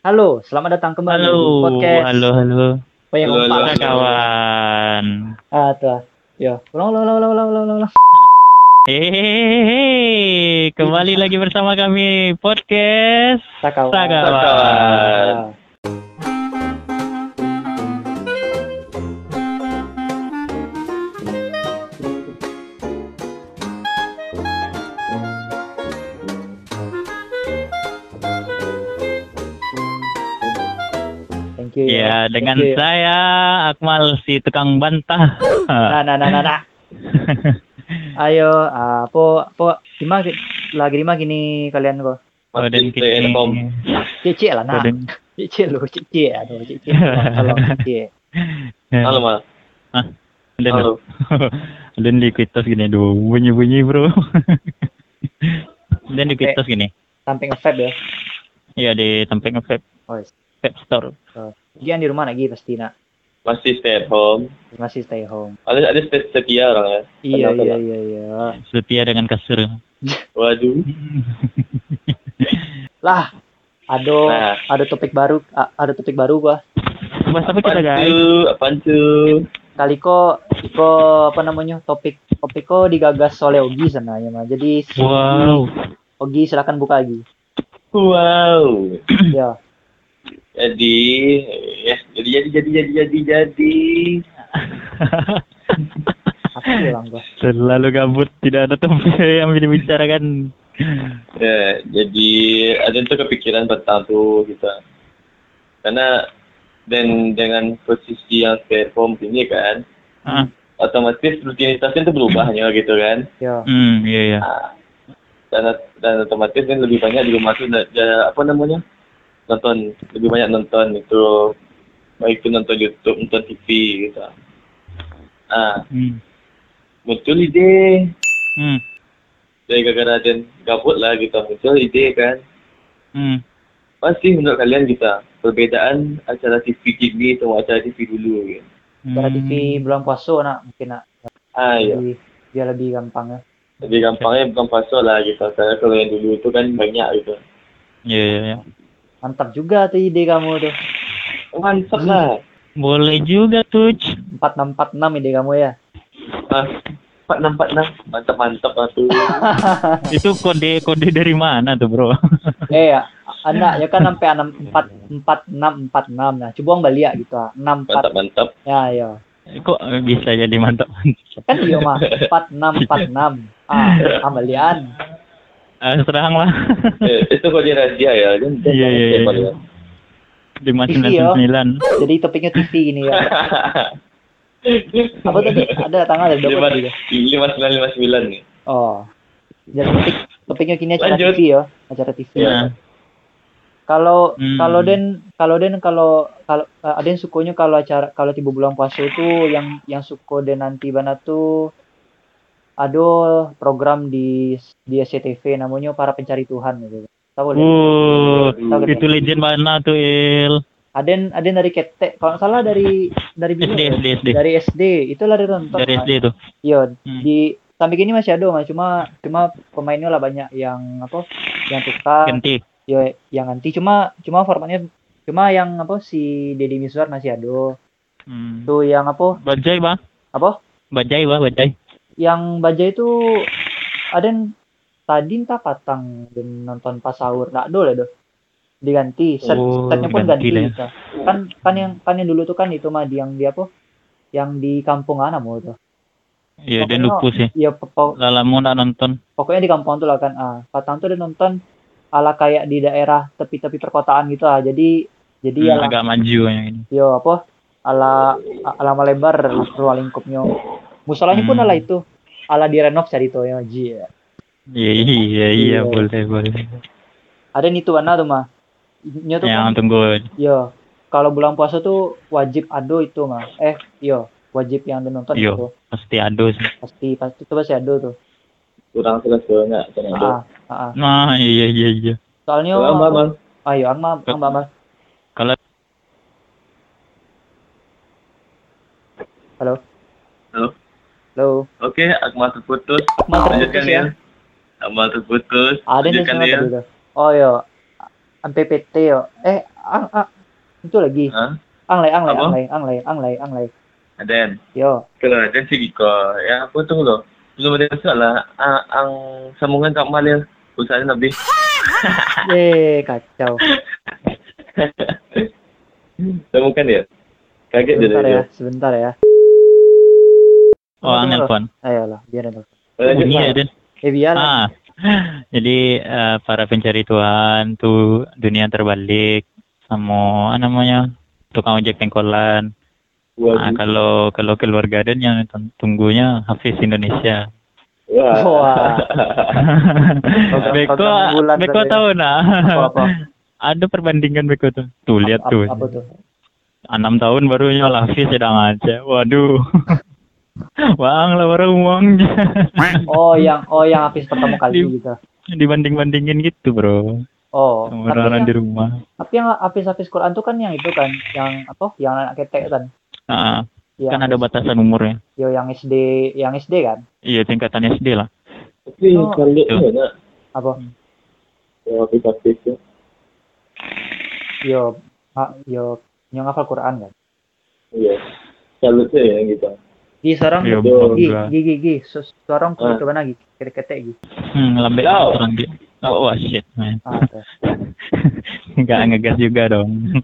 Halo, selamat datang kembali Halo, di podcast halo. Peyang Halo, Empat. halo. Kawan. Tuh. Ya, ulang. Hehehe, kembali lagi bersama kami podcast Sakawan. Sakawan. Ya. Thank you. Ya, dengan Thank you. saya Akmal si tukang bantah. Nah. Ayo, apa lagi di mana gini kalian kok? Koden Stay at home. Cece lah nak. Koden. Cece lu, cece. Aduh, cece. Tolong cece. Halo, Mal. Dan Halo. dan di kuitas gini, aduh bunyi bro. Dan di kuitas gini. Sampai nge-vape ya. Iya di sampai nge-vape Oh, yes. vape store. Gian di rumah lagi pasti nak. Masih stay at home. Masih stay home. Ada setia orang ya. Iya. Setia dengan kasur. Waduh. Lah, ada topik baru gua. Bahas apa kita guys? Apaan tuh? Kali kok apa namanya? Topik kok digagas oleh Ogi sebenarnya mah. Jadi Wow. Ogi silakan buka lagi. Wow. Ya. Jadi. Apa bilang gua? Terlalu gabut, tidak ada topik yang bisa dibicarakan. Ya, jadi ada tuh kepikiran tentang tuh kita. Karena dengan posisi yang stay at home ini kan, otomatis rutinitasnya tuh berubahnya gitu kan. Ya. Iya. Dan otomatis kan lebih banyak di rumah tuh lebih banyak nonton itu, baik itu nonton YouTube, nonton TV gitu. Muncul ide dari gara-gara dan gabut lah gitu, muncul ide kan. Pasti menurut kalian kita perbedaan acara TV kini sama acara TV dulu gitu. Cara TV bulan puasa nak mungkin nak. Iya. Biar lebih gampang ya. Lebih gampangnya bukan puasa lah gitu. Karena kalau yang dulu itu kan banyak gitu. Iya. Mantap juga tuh ide kamu tuh. Mantap lah. Boleh juga tuh. 4646 ide kamu ya. 4646 mantap lah tuh. Itu kode dari mana tuh bro? Ya, anak ya kan sampai 4646. Nah, coba balik gitu. 64. Mantap. Ya. Kok bisa jadi mantap? Kan iya mah 4646. Kembalian. Serang lah. Itu kode rahasia ya. Iya. 599. Jadi topiknya TV gini ya. Apa tadi? Ada tanggal ada berapa tadi? 5959 nih. Oh. Jadi topiknya kini acara Lanjut. TV ya, acara TV. Ya. Kalau ada yang sukanya kalau tiba bulan puasa itu yang suka dan nanti bana tuh ada program di SCTV namanya Para Pencari Tuhan gitu. Tahu kan? Itu legend mana tuh Il? Ada dari ketek, kalau nggak salah dari SD. Dari SD, itulah dari nonton. Dari SD tuh. Iya, di sampai kini masih ada, cuma pemainnya lah banyak yang tukar. Ganti. Ya, yang ganti cuma formatnya yang si Deddy Mizwar masih ada. Tuh yang Bajai bang. Apa? Bajai. Yang Bajai itu ada tadi entah patang dan nonton pas sahur, nggak ada lah diganti setnya pun ganti lah. kan yang dulu tuh kan itu mah yang di kampung mana mau tuh. Iya dia lupa sih. Iya lama nggak nonton. Pokoknya di kampung tuh lah kan. Patang tuh dia nonton ala kayak di daerah tepi-tepi perkotaan gitu jadi agak maju yang ini. Yo ala melebar ruang lingkupnya. Musolanya pun ala itu ala direnov cari tuh ya ji. Iya boleh. Ada nih tuh mana tuh mah. Tuh yang kan, tunggu. Yo, kalau bulan puasa tuh wajib ado itu mah. Wajib yang nonton itu. Pasti ado sih. Pasti itu pasti ado tuh. Kurang selesai Nah, iya. Soalnya ayo Mbak. Kalau Halo. Oke, Akmal terputus. Lanjutkan ya. Akmal terputus. Ada nih Lanjutkan sama ya. tadi tuh. Oh yo. MPPT yo. Itu lagi. Hah? Anglai. Aden. Yo. Kalau Aden sih Biko. Ya, aku tunggu loh. Belum ada soal lah. Ang sambungan Kak Malil. Usahanya lebih. Kacau. Temukan ya? Kaget dia. Sebentar ya. Oh, nelfon. Ayolah, biar nelfon. Lanjut, Iya, Mas. Den. Biar. Jadi para pencari Tuhan tuh dunia terbalik sama namanya tukang ojek pengkolan. Nah, Waduh. kalau keluarga Den yang tunggunya Hafiz Indonesia. Wah. Beko tahu nah. Apa? Ada perbandingan Beko tuh. Tuh lihat tuh. Apa tuh? 6 tahun baru nyola Hafiz sedang aja. Waduh. Bang lah baru uangnya. Oh, yang habis pertama kali gitu. Dibanding-bandingin gitu, Bro. Oh, Sama orang di rumah. tapi yang habis Quran tuh kan yang itu kan, yang apa? Yang anak ketek kan. Kan ada batasan umurnya. Yo, yang SD kan? Iya, tingkatan SD lah. Tapi kalau itu mana? Apa? Yang aplikasi itu. Yo, yang hafal Quran kan? Iya. Salutnya ya gitu. Seorang Iya, gigi. Seorang ke mana lagi? Ketek gitu. Lambe orang dia. Oh, shit, man. Enggak ngegas juga dong.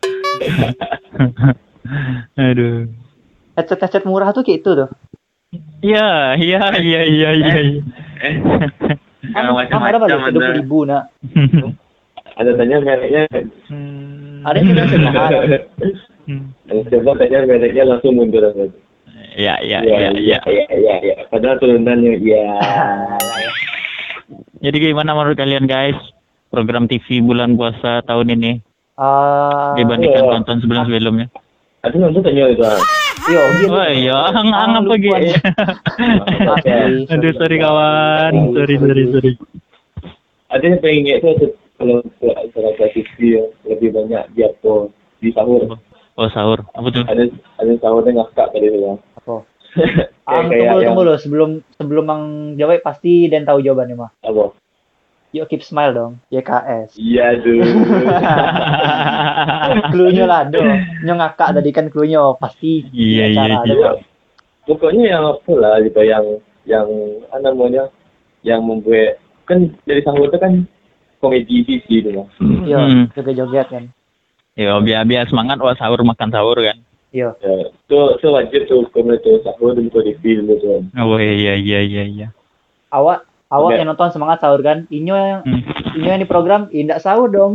Aduh. Headset murah tuh kayak itu tuh. Iya. Macam-macam ada 20.000 nak. Ada tanya mereknya. Ada yang sudah semahal. Ada coba tanya mereknya langsung mundur aja. Iya. Padahal turunannya iya. Jadi gimana menurut kalian guys? Program TV bulan puasa tahun ini dibandingkan tonton sebelumnya? Ada nonton tanya itu. Yo, gitu. Oh iya, apa gitu? Aduh, sorry kawan. Sorry. Ada yang pengen ingat itu kalau acara TV lebih banyak jatuh di sahur. Oh, sahur. Apa tuh? Ada sahurnya ngakak tadi ya. Apa? Tunggu loh, sebelum Mang jawab pasti dan tahu jawabannya mah. Apa? Yuk keep smile dong, YKS. Iya dulu. Cluenya lah dong. Nyo ngakak tadi kan cluenya pasti. Iya. Pokoknya yang apa lah gitu yang namanya yang membuat kan dari sahur itu kan komedi sih itu lah. Iya, joget-joget kan. Yo, biar semangat sahur makan sahur kan. Iya. Itu wajib tuh komedi sahur di film itu. Oh iya. Awak yang nonton semangat sahur kan? Inyo yang di program indak sahur dong.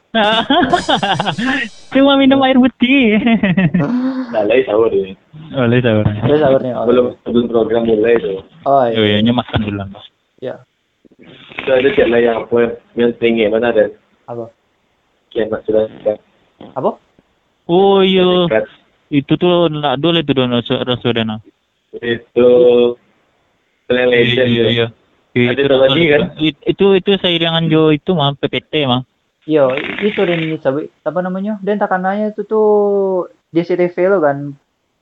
Cuma minum air putih. Nah, lagi sahur ini. Oh, lagi sahur. Lagi sahurnya. Sebelum program mulai itu. Oh iya. Iya, makan dulu. Iya. Itu ada channel yang apa yang tinggi mana ada? Apa? Kiamat sudah dekat. Apa? Oh iya. Itu tuh nak dulu itu don Rasulullah. Itu Legend. Iya. Ada lagi kan? Itu seiringan Jo itu mah PPT mah. Yo, itu dan apa namanya? Dan takanannya itu tuh JCTV lo kan.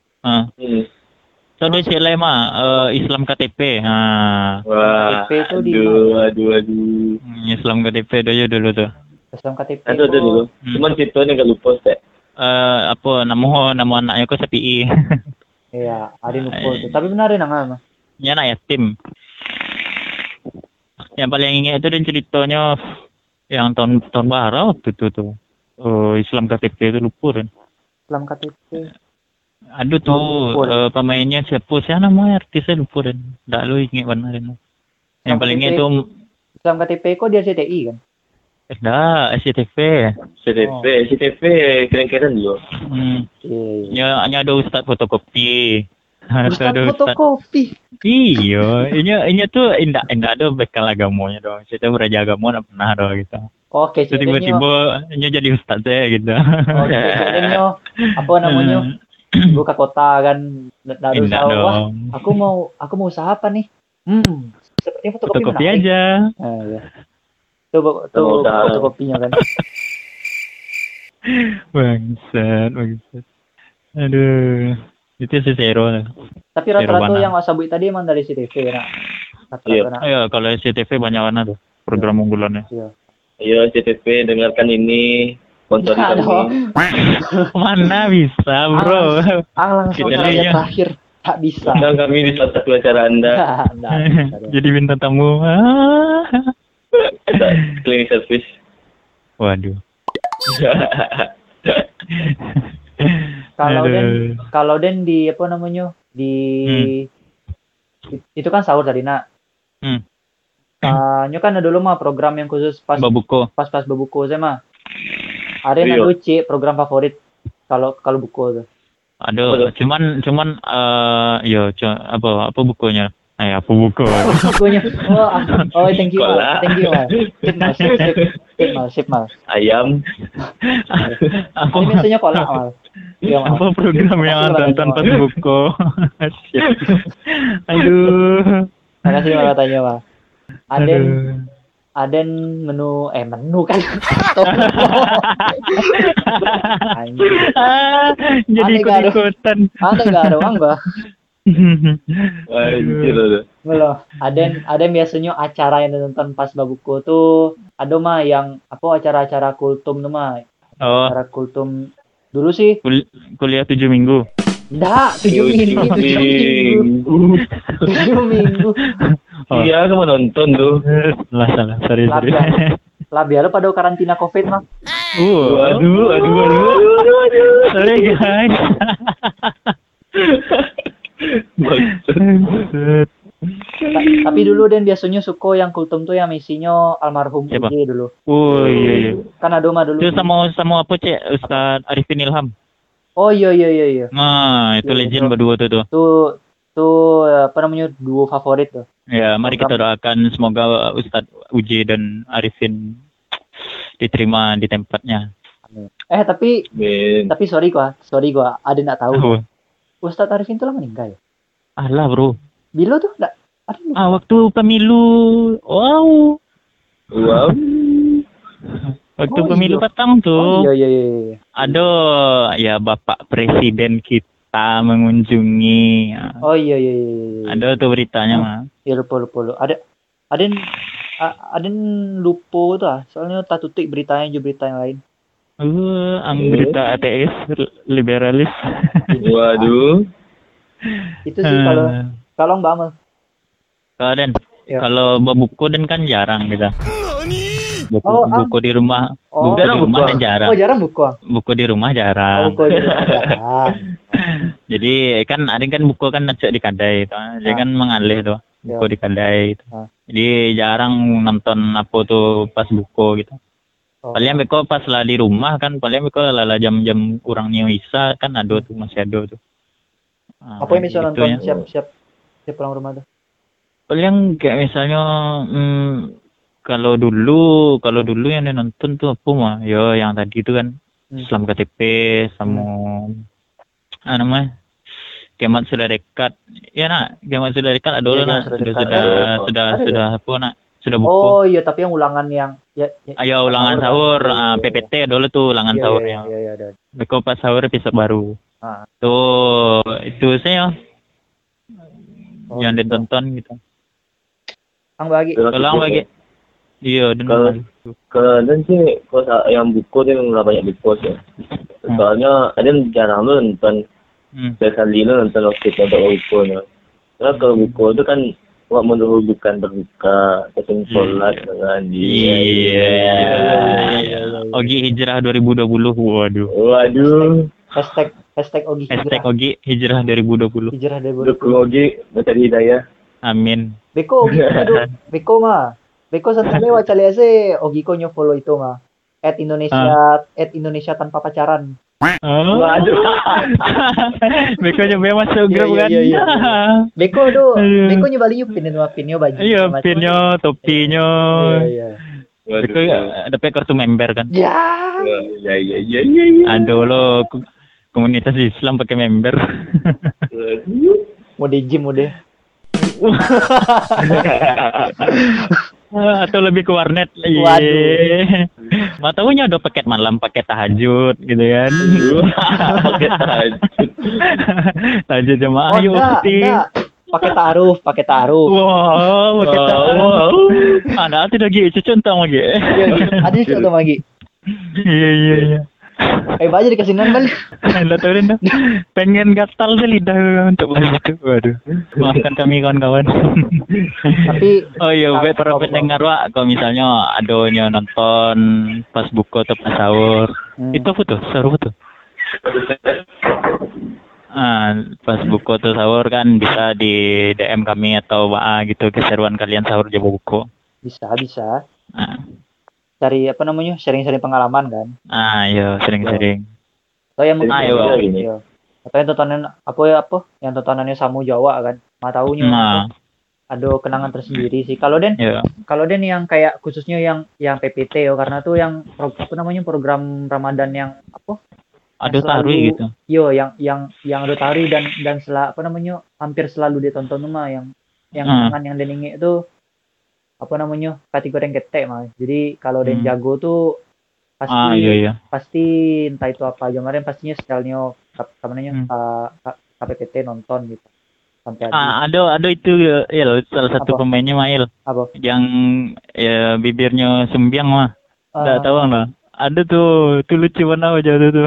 So di sini mah Islam KTP. Wah. KTP itu aduh. Islam KTP dulu tuh. Islam KTP. Ada dulu. Cuman ceritanya enggak lupa teh. Apa nama anaknya kok Sepi. Iya, ada lupa tuh. Tapi benar ya nama. Ya anak yatim. Yang paling ingat itu dan ceritanya yang tahun baru waktu itu tuh. Islam KTP itu lupa kan. Islam KTP. Aduh tuh pemainnya siapa namanya artisnya lupa kan. Enggak lu ingat benar kan. Yang paling ingat itu Islam KTP kok dia CTI kan? SCTV. SCTV keren-keren dulu. Iya. Nya ada ustaz fotokopi. Ustaz fotokopi. Iya, ini tuh indah ada bekal agamanya dong. Saya belajar agama enggak pernah dong gitu. Oke, tiba-tiba jadi ustaz saya gitu. Oke, ceritanya apa namanya? Buka kota kan, lalu wah, aku mau usaha apa nih? Sepertinya fotokopi aja. Ya. Tuh fotokopinya kan. Bangsat. Aduh. Itu si Zero. Tapi rata-rata yang Wasabi tadi emang dari CTV nak. Iya, kalau CTV banyak mana tuh program unggulannya. Iya, CTV dengarkan ini sponsori Nggak kami. dong. Mana bisa, bro. Langsung Kita saja lihat. terakhir. Tak bisa. Undang kami di salah satu acara Anda. Nggak bisa dong. Jadi bintang tamu. Kita cleaning service. Waduh. Kalau Aduh. kalau Den di apa namanya? Di itu kan sahur tadi nak. Hmm. Nyo kan ada dulu mah program yang khusus pas Babuko. pas buku saya mah. Ada Iya. yang Cik program favorit kalau buku tuh. Aduh, cuman apa bukunya? Apa buku? Bukunya. Thank you Sekolah. mal. Thank you mal. Sip mal. Ayam. Apa Ini biasanya kolak mal. Iya mal. apa program yang Makasih nonton banyak, pas Mal. buku? Aduh. Makasih mal tanya mal. Aduh. Aden menu kan. Anjir. Jadi Aneh gak ada. ikut-ikutan. Ada enggak ada uang gak? Anjir loh. Belum. Aden biasanya acara yang nonton pas babuku tuh ada mah yang acara-acara kultum tuh mah. Oh, Acara kultum dulu sih. kuliah 7 minggu. Enggak, 7 minggu. 7 minggu. Oh. Iya, kamu nonton tuh. Salah. Sorry. Lah biar pada karantina Covid mah. Aduh. Sorry guys. Maksud. Tapi dulu Den biasanya suko yang kultum tuh yang misinya almarhum Siapa? Uji dulu. Oh iya. Kan ada mah dulu. Itu sama apa Cek? Ustaz Arifin Ilham. Oh iya. Nah, itu Iya, legend itu. berdua tuh. Tuh apa namanya duo favorit tuh. Ya, mari kita doakan semoga Ustaz Uji dan Arifin diterima di tempatnya. Tapi Men. sorry gua ada nggak tahu. Oh. Ustadz Arifin tuh lah meninggal ya. Alah, bro. Bilo tuh enggak ada. Waktu pemilu. Wow. Waktu Oh, pemilu iya. petang tuh. Oh iya. Aduh, ya Bapak Presiden kita mengunjungi. Oh iya. Ada tuh beritanya mah. Ya lupa. Ada lupa tuh soalnya tak tutik beritanya juga berita yang lain. Berita ateis, liberalis. Waduh. Itu sih kalau Mbak Amel. Kalau Den, Ya. kalau buku Den kan jarang gitu. Buku di rumah, Oh, buku di jarang rumah buku. Dan jarang. Oh jarang buku. Buku di rumah jarang. Buku di rumah jarang. Jadi kan ada kan buku kan necek di kedai itu. Dia kan mengalih tuh buku di kedai itu. Jadi jarang nonton apa tuh pas buku gitu. Oh. Paling beko pas lah di rumah kan paling beko lala jam-jam kurang isa kan ada tuh masih ada tuh. Apa yang bisa gitu nonton ya. siap pulang rumah tuh? Paling kayak misalnya kalau dulu yang nonton tuh apa mah? Yo yang tadi itu kan Islam KTP sama namanya Kiamat Sudah Dekat. Ya nak, Kiamat Sudah Dekat ada Iya, lah nak. Kiamat Sudah Dekat. Sudah apa nak? Sudah buku. Oh iya, tapi yang ulangan yang Ayo ulangan sahur, PPT dulu tuh ulangan sahur Iya, yang. ada. Beko pas sahur episode baru. Ah. Tuh itu saya Oh, yang gitu. ditonton gitu. Kang bagi. Tolong bagi. Iya, dan Kalau dan sih, kalau yang buku dia nggak banyak buku sih. Soalnya ada yang jarang lu nonton. Sekali lu nonton waktu itu untuk bukunya. Karena kalau buku itu kan buat bukan berbuka, tapi sholat dengan dia. Iya. Ogi Hijrah 2020. Waduh. Hashtag Ogi Hashtag Ogi Hijrah 2020. Hijrah dari Dukung Ogi mencari hidayah. Amin. Beko Ogi aduh. Beko mah. Beko santai wae cali ase Ogi ko nyo follow itu mah. @Indonesia tanpa pacaran. Waduh. Beko nyoba masuk grup kan. Iya. Beko nyoba liu pinnya baju. Iya, pinnya, topinya. Iya. Beko dapat kartu member kan. Ya. Iya. Aduh lo komunitas Islam pakai member. Mau di gym udah. Atau lebih ke warnet. Waduh. Mau tahunya udah paket malam, paket tahajud gitu kan. Pakai tahajud. Tahajud jemaah yuk pasti. Pakai taruh. Wow, pakai taruh. Ada tidak gitu contoh lagi. Iya, ada contoh lagi. Iya. Aja dikasih nambah. Lah tahu dah. Pengen gatal sih lidah untuk bahas itu. Waduh. Maafkan kami kawan-kawan. Tapi oh iya, buat para pendengar Wak, kalau misalnya adanya nonton pas buka atau pas sahur, itu foto, sahur foto. Pas buka atau sahur kan bisa di DM kami atau WA gitu keseruan kalian sahur jam buka. Bisa. Cari sharing-sharing pengalaman kan. Iya, sering-sering. Atau yang mungkin atau yang tontonan yang tontonannya Samu Jawa kan. Taunya ada kenangan tersendiri sih. Kalau Den yang kayak khususnya yang PPT karena tuh yang program Ramadan yang ada tari gitu. Yo, yang ada tari dan hampir selalu ditonton mah yang tangan yang deninge itu kategori yang ketek mah. Jadi kalau Den jago tuh pasti entah itu apa aja kemarin pastinya stylenya KPPT nonton gitu. Sampai ada itu Il, salah satu pemainnya Mail. Apa? Yang bibirnya sembiang mah. Enggak tahu lah. Ada tuh lucu banget aja tuh.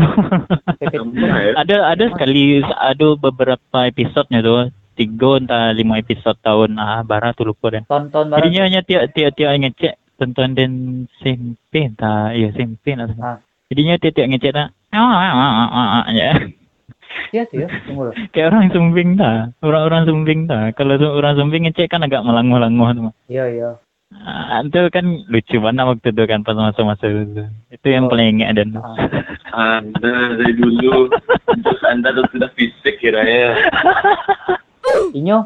ada sekali ada beberapa episodenya tuh. 3 entah 5 episode tahun barat tuh lupa dan. Tonton barat. Jadinya hanya tiap ngecek tonton dan SMP SMP lah. Jadinya tiap ngecek dah. Ya. Iya sih ya, tunggu. Kayak orang sumbing dah. Orang sumbing dah. Kalau orang sumbing ngecek kan agak melanguh-languh tuh. Iya. Itu kan lucu banget waktu itu kan pas masa-masa itu. Itu yang paling ingat dan. Anda dari dulu Anda tuh sudah fisik kiranya. Inyo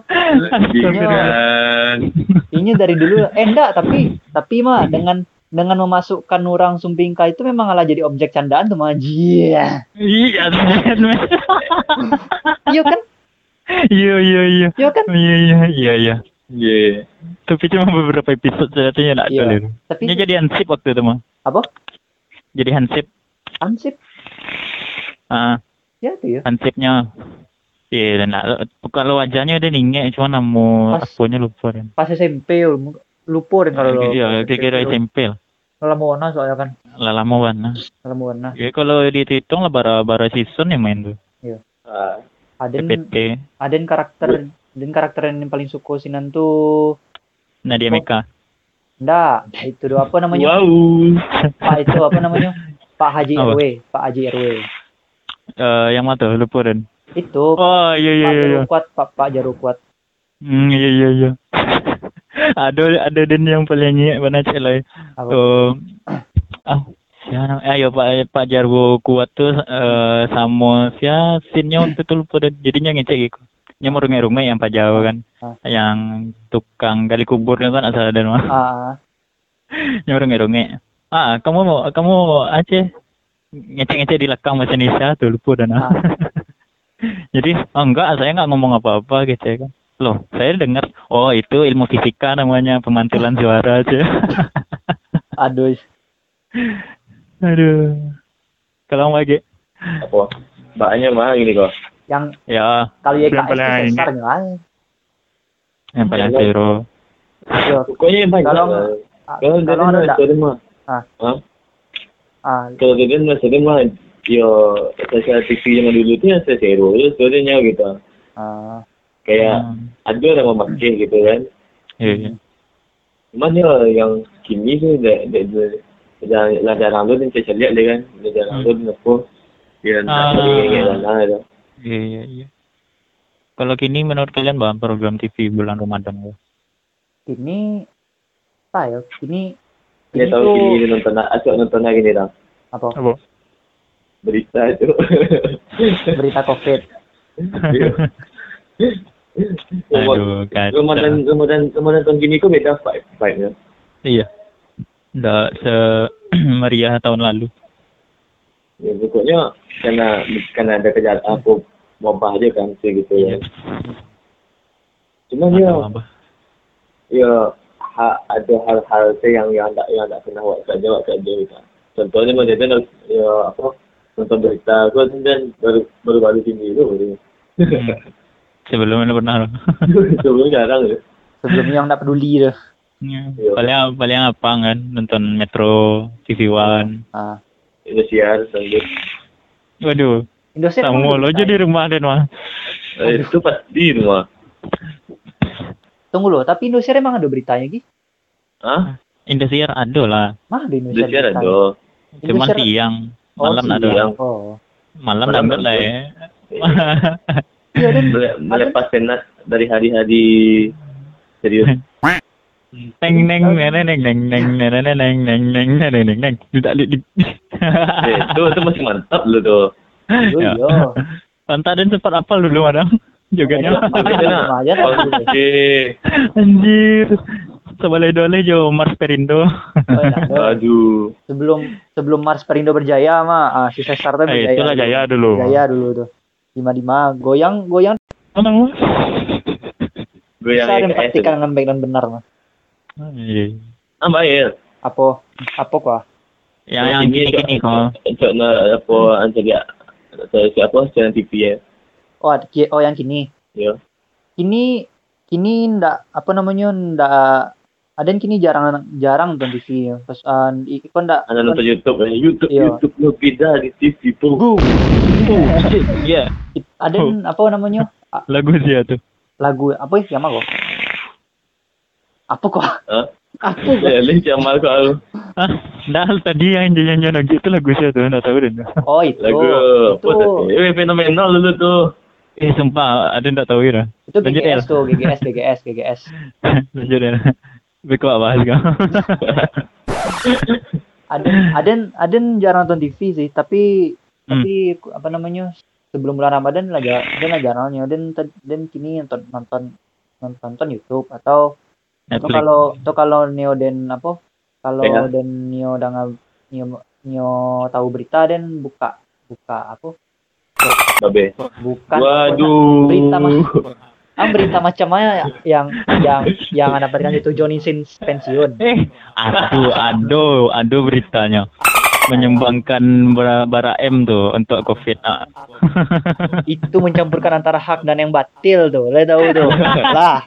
dari dulu enggak tapi mah dengan memasukkan orang Sumbingka itu memang malah jadi objek candaan tuh mah. Iya kan? Iya kan? Iya. Tapi cuma beberapa episode saja enggak ada. Tapi ini jadi hansip waktu itu mah. Apa? Jadi hansip. Ya itu ya. Hansipnya. Iya, kalau wajahnya udah ningek, cuma nama akunnya lupa kan. Pas SMP lupa kan kalau. Iya, kira SMP lah. Lama warna soalnya kan. Lama warna. Ya kalau dihitung lah bara season yang main tuh. Iya. Aden karakter yang paling suka sinan tuh Nadia Meka. Enggak, itu doa apa namanya? Wow. Pak Haji RW. Yang mana tuh lupa dan. Itu. Oh iya. Pak Jaru kuat. Iya. ada dan yang paling ingat mana cek lah. Pak Jarwo kuat tuh sama scene-nya waktu itu lupa dan jadinya ngecek gitu. Nya mau rumah yang Pak Jawa kan. Yang tukang gali kuburnya kan asal dan mah. Nya runge. Kamu Aceh ngecek di belakang bahasa Indonesia tuh lupa dan. Jadi enggak, saya nggak ngomong apa-apa gitu ya kan. Loh, saya dengar, itu ilmu fisika namanya, pemantulan suara aja. Aduh. Kalau lagi. Apa? Mbaknya mah gini kok. Yang kalau YKS itu besar nggak? Yang paling zero. Pokoknya yang banyak. Kalau ada kalau dia masih mah saya TV yang dulu tuh saya zero sebenarnya gitu. Kayak ada orang memakai gitu kan. Iya. Cuman yang kini tuh jarang dan saya lihat deh kan. Jarang dan apa. Iya. Kalau kini menurut kalian bang program TV bulan Ramadan? Ini Ini tahu kini nonton lagi nih dah. Apa? Berita itu. Berita COVID. Aduh, Ramadan tahun gini kok beda vibe-nya. Iya. Nggak semeriah tahun lalu. Ya pokoknya karena ada kejadian apa wabah aja kan gitu ya. Cuman ada hal-hal yang enggak pernah buat saja gitu. Contohnya macam nonton berita aku dan baru sini itu. Sebelumnya pernah. Sebelumnya jarang ya. Sebelumnya nggak peduli deh. Paling apa kan nonton Metro TV One. Indosiar lanjut. Waduh. Indosiar Sama lo aja di rumah dan mah. Itu pasti rumah. Tunggu loh, tapi Indosiar emang ada beritanya Gi? Hah? Indosiar ada lah. Mah di Indosiar Indosiar ada. Cuma siang, malam ada. Siang. Malam lambat lah ya. Iya dan melepas penat dari hari-hari serius. Neng neng neng neng neng neng neng neng neng neng neng neng neng neng itu masih mantap lu tuh. Iya. Pantai dan sempat apal dulu madang jogetnya. Oke. Anjir. Sebalai-dolai jo Mars Perindo. Aduh. Sebelum Mars Perindo berjaya mah si Cesar tuh berjaya. Itulah Jaya dulu. Jaya dulu tuh. 55 goyang. Mana? Bisa dipastikan dengan baik dan benar mah. Iya. Baik. Apa kok? Yang gini kok. Contohnya apa anjir siapa channel TV ya? Oh yang kini. Iya. Kini ndak apa namanya ndak ada yang kini jarang nonton TV. Pas ikon ndak ada nonton YouTube lo beda di TV tuh. Iya. Ada apa namanya? Lagu dia tuh. Lagu apa ya mah kok? Apa kok? Apa kok? Lin Jamal kok. Dah tadi yang nyanyi lagi itu lagu saya tuh, enggak tahu deh. Oh itu. Lagu. Fenomenal dulu tuh. Sumpah, ada enggak tahu ya. Itu GGS tuh, GGS. Lanjut ya. Beko apa sih kamu? Aden jarang nonton TV sih, tapi apa namanya? Sebelum bulan Ramadan lagi jarangnya. Dan kini nonton YouTube atau kalau Neo dan apa? Kalau dan Neo tahu berita dan buka apa? Babe. Bukan. Waduh. Berita macam mana yang Anda berikan itu Johnny Sins pensiun. Aduh beritanya. Menyumbangkan bara M tuh untuk COVID. Itu mencampurkan antara hak dan yang batil tuh. Lo tahu tuh. Lah.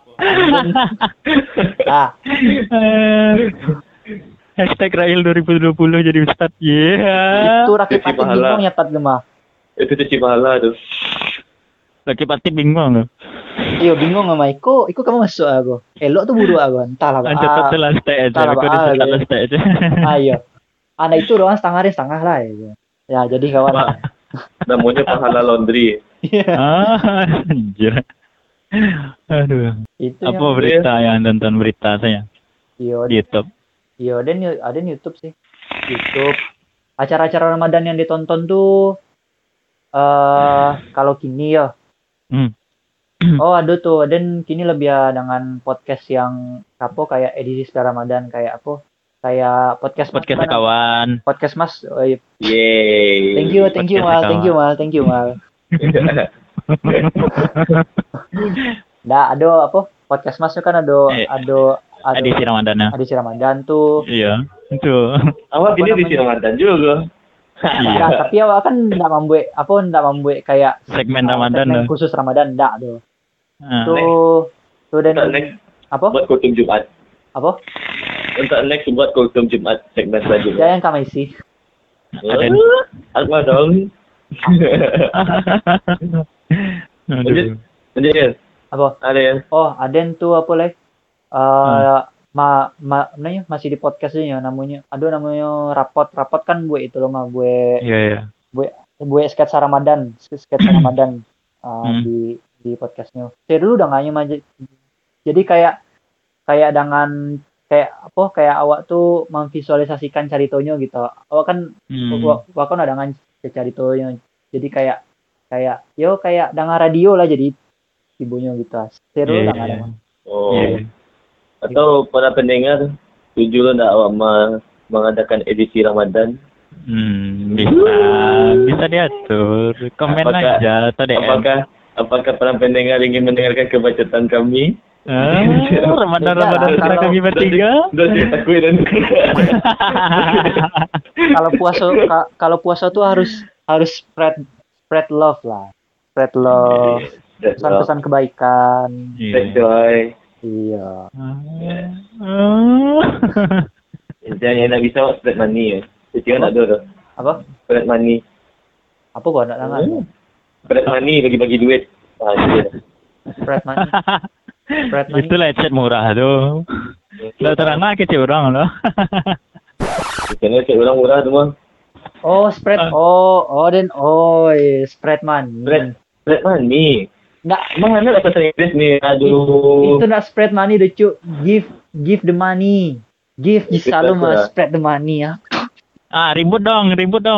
Hashtag Rail 2020 jadi Ustadz. Itu rakyat pati bingung nyatat gemah. Itu cuci pahala tuh. Rakyat pati bingung. Iya bingung sama Iko kamu masuk aku. Elok tuh buru aku. Entahlah Pak. Cepat lantai aja. Aku di lantai aja. Ayo. Anak itu doang setengah lah ya. Ya jadi kawan. Namanya pahala laundry. Anjir. Aduh. Itu apa berita yang nonton berita saya? Iya. YouTube. Iya, ada YouTube sih. YouTube. Acara-acara Ramadan yang ditonton tuh kalau kini ya. Oh, ada tuh. Dan kini lebih dengan podcast yang kayak edisi spesial Ramadan kayak apa? Kayak podcast kawan. Podcast Mas. Oh, iya. Yeay. Thank you Mal. Nah, ada apa? Podcast Mas kan ada edisi Ramadan. Edisi Ramadan tuh. Iya, itu. Awak ini edisi Ramadan juga. Iya, tapi awak kan enggak membuat kayak segmen Ramadan segmen khusus Ramadan enggak tuh. Tuh dan next apa? Buat kultum Jumat. Apa? Untuk next buat kultum Jumat segmen selanjutnya. Yang kami isi. Apa dong? Lanjut. Apa? Ada ya? Oh, Aden tuh apa lagi? Namanya masih di podcastnya namanya. Namanya rapot kan gue itu loh mah gue. Iya. Gue sketsa Ramadan di podcastnya. Saya dulu udah nganyem aja. Jadi kayak dengan kayak awak tuh memvisualisasikan caritonya gitu. Awak kan ada ngan caritonya. Jadi kayak dengan radio lah jadi ibunya gitu. Seru lah ada. Oh. Yeah. Atau para pendengar setuju lo enggak awak mengadakan edisi Ramadan? Bisa diatur. Komen aja atau DM. Apakah para pendengar ingin mendengarkan kebacotan kami? Ramadan kami bertiga. Kalau puasa tuh harus spread love lah. Spread love. Pesan-pesan kebaikan. Spread joy. Iya. Yang nak bisa spread money ya. Jadi kan ada tu. Apa? Spread money. Apa gua nak dengar? Spread money bagi-bagi duit. Spread money. Spread money. Itulah chat murah tu. Lah terang nak kecil orang loh. Kena cek orang murah tu mah. Oh, spread. Spread money. Spread money. Nggak, Mana lah bahasa Inggeris ni? Aduh. itu nak spread money deh, Cuk. Give the money. Give selalu mah spread the money ya. Ribut dong.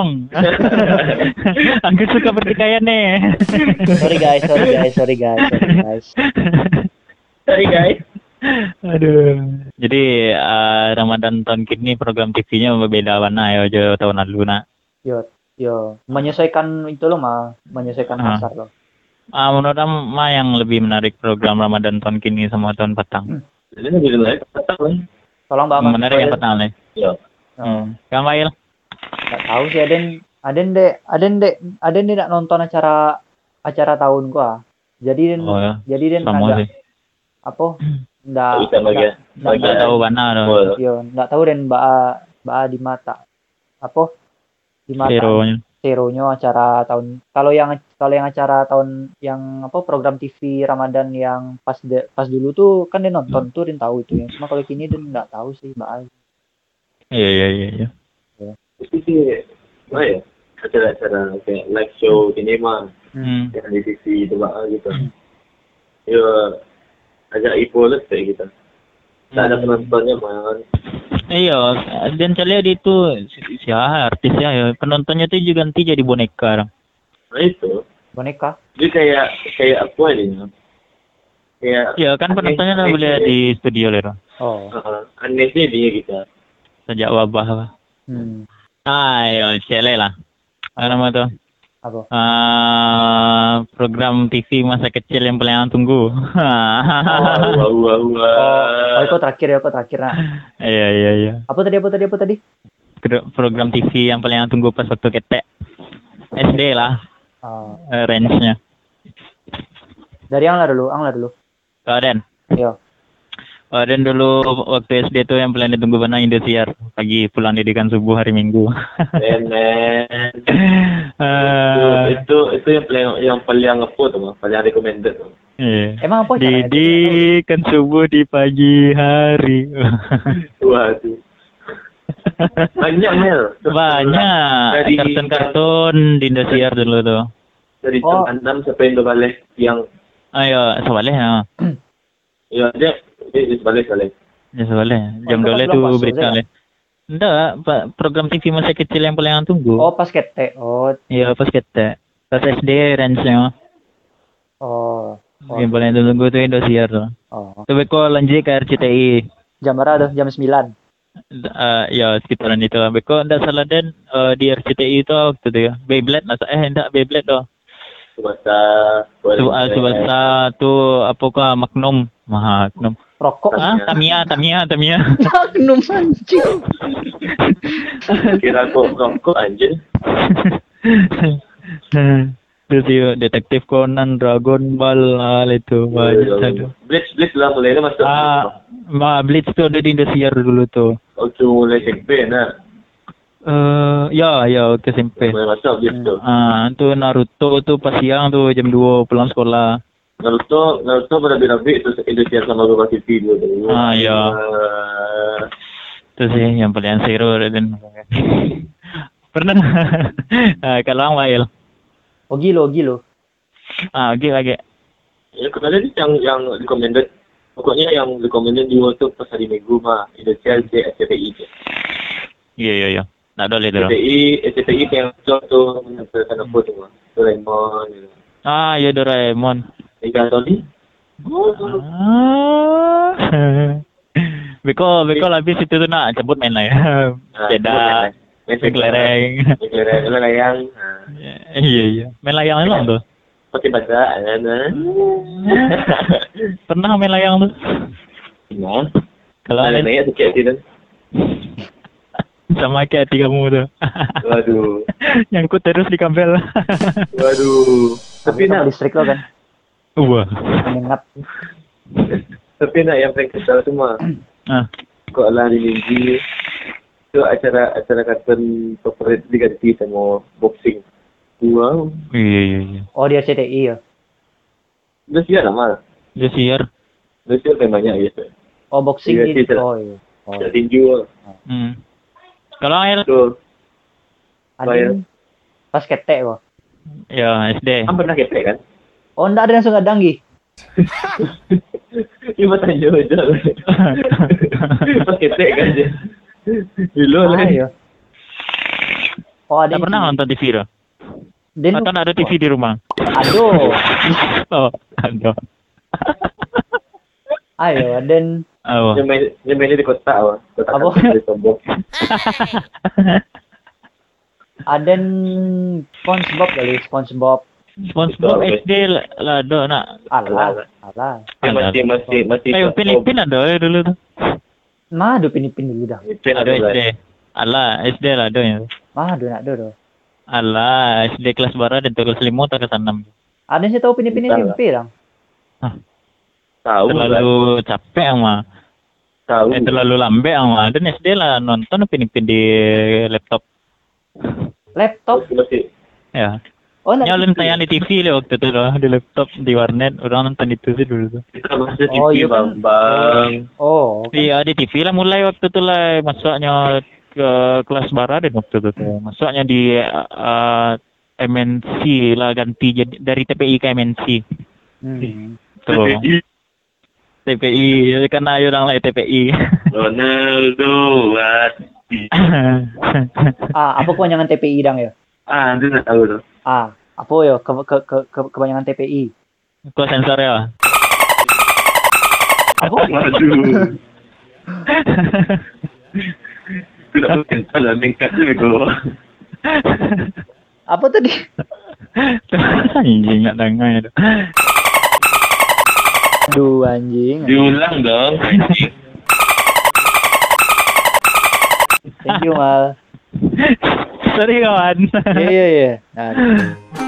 Aku suka pertikaian nih. Sorry guys. Sorry guys. Aduh. Jadi Ramadan tahun kini program TV-nya berbeda warna ya jauh tahun lalu nak. Yo. Menyesuaikan itu loh mah, menyesuaikan pasar loh. Menurut Ma yang lebih menarik program Ramadan tahun kini sama tahun petang. Jadi lebih menarik petang. Tolong Mbak. Menarik yang petang nih. Ya. Kamu Mail? Nggak tahu sih Aden deh nak nonton acara tahun gua. Jadi Den sama agak sih. apa? Nggak tahu mana loh. Yo, nggak tahu Den Mbak di mata. Apa? Di mata. Seronya acara tahun. Kalau yang acara tahun yang apa program TV Ramadan yang pas dulu tuh kan dia nonton tuh dia tahu itu. Cuma kalau kini dia nggak tahu sih Mbak. Iya. Itu sih, apa ya? Acara-acara kayak live show gini mah, yang di TV itu gitu. Ya, agak ipoles kayak gitu. Tak ada penontonnya man. Iya, dan saya lihat itu siapa artisnya ya. Penontonnya tuh juga nanti jadi boneka. Nah itu. Boneka? Dia kayak apa ini? Kayak. Iya kan penontonnya udah boleh di studio lah. Oh. Anehnya dia gitu. Sejak wabah. Ayo, cele lah. Apa nama tuh? Apa? Program TV masa kecil yang paling tunggu. Wow. Kok terakhir nah. Iya. Apa tadi? Program TV yang paling tunggu pas waktu ketek. SD lah. Range-nya. Dari Angla dulu. Kaden. Iya. Dan dulu waktu SD tuh yang paling ditunggu mana Indosiar pagi pulang didikan subuh hari Minggu. Itu yang paling ngepo tuh, paling recommended tuh. Iya. Emang apa caranya? Didikan subuh di pagi hari. Waduh. Banyak Mel. Banyak kartun-kartun di Indosiar dulu tuh. Dari jam 6 sampai balik siang. Ayo, sebalik ya. Iya, dia sebalik. Ya sebalik. Jam 2 tuh berita le. Enggak, program TV masa kecil yang paling tunggu. Oh, pas ketek. Oh. Iya, pas ketek. Pas SD range-nya. Oh. Yang paling tunggu tuh Indosiar tuh. Oh. Tapi kok lanjut ke RCTI. Jam berapa tuh? Jam 9. Ya sekitaran itu lah. Beko enggak salah dan di RCTI itu waktu itu ya. Beyblade enggak Beyblade tuh. Subasa tuh apakah Magnum. Rokok. Tamiya. Magnum anjing. Kira kok rokok anjing. Terus yuk, Detektif Conan, Dragon Ball itu banyak satu. Blitz lah mulai masuk. Blitz tuh ada di Indosiar dulu tuh. Oh tuh mulai SMP nah. Ya ke SMP. Mulai masuk Blitz tuh. Tuh Naruto tuh pas siang tuh jam 2 pulang sekolah. Naruto berabi-rabi itu Indosiar sama Global TV dulu. Ya. Itu sih yang paling seru dan pernah. Kalau Ang Wail. Oh gilo. Gilo lagi. Ya kemarin yang recommended. Pokoknya yang recommended di YouTube pas hari Minggu mah Indosiar SCTI. Iya. Nak boleh dulu. SCTI yang contoh menampilkan apa tuh mah. Doraemon gitu. Ya Doraemon. Ikan Tony. Beko habis itu tuh nak cabut main lah ya. Beda. Main kelereng. Iya. Main layang itu tuh. Pakai bahasa Pernah main layang tuh? Iya. Kalau ada nanya sikit sih tuh. Sama kayak hati kamu tuh. Waduh. Nyangkut terus di kabel. Waduh. Tapi nak listrik lo kan. Wah. Menyengat. Tapi nak yang paling kesal semua. Kok lah di minggu itu acara kartun favorit diganti sama boxing. Wow. Iya. Oh, dia CTI ya. Udah siar lah. Dia siar. Udah siar temanya gitu. Oh, boxing Iya, ini. tidak. Oh, iya. Oh. Tidak tinju. Kalau air Tuh. Ada pas ketek kok. ya SD. Kan pernah ketek kan? Oh, enggak ada langsung ada Anggi. Cuma tanya aja. Pas ketek kan dia. Dulu lah. Iya. Oh, ada. Tak pernah nonton TV dah. Den Atau ada TV di rumah? aduh. Oh, ada. Ayo, dan Oh. Dia mainnya di kota apa? Kota Apa? kan di Tombok. Aden SpongeBob kali, SpongeBob. SpongeBob SD lah ada nak. Alah. Dia masih. Kayak Filipin ada ya dulu tuh. Mah do pinipin dulu dah. Ada SD. Alah, SD lah ada ya. Mah do nak do. Alah, SD kelas barat dan kelas 5 atau kelas 6. Ada sih tahu pinipin Entah lah. SMP lah. Tahu Terlalu capek ama. Tahu. Terlalu lambe ama. Dan SD lah nonton pinipin di laptop. Laptop. Masih. Ya. Oh, nak Nyalin TV. tayang di TV lah waktu itu loh, di laptop, di warnet. Orang nonton itu sih dulu tuh. Kita masih Oh, TV iya kan? bang. Oh, Iya di TV lah mulai waktu itu lah masuknya ke kelas barat dan waktu itu tuh. Masuknya di MNC lah ganti jadi dari TPI ke MNC. Tuh. TPI karena orang lain TPI. Ronaldo apa kepanjangan TPI dang ya? itu nggak tahu tuh. Apa ya kepanjangan TPI? Kau sensor ya? Apa? Waduh. Tidak mungkin salah meningkat juga. Apa tadi? Anjing nggak dengar itu. Aduh anjing. Diulang dong. Thank you Mal. Sorry kawan. Iya. Nah.